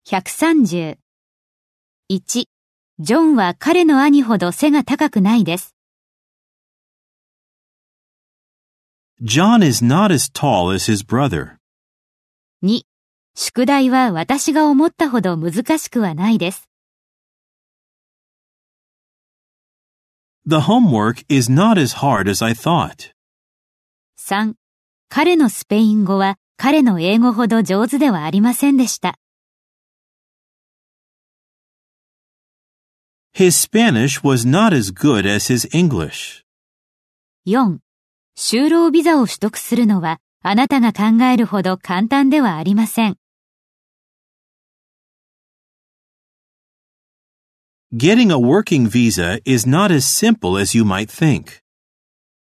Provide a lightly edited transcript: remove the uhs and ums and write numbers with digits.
130。1、ジョンは彼の兄ほど背が高くないです。 John is not as tall as his brother. 2、宿題は私が思ったほど難しくはないです。 The homework is not as hard as I thought. 3、彼のスペイン語は彼の英語ほど上手ではありませんでした。 His Spanish was not as good as his English. 4、就労ビザを取得するのはあなたが考えるほど簡単ではありません。 Getting a working visa is not as simple as you might think.